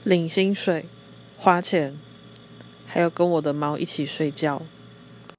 领薪水、花钱，还有跟我的猫一起睡觉。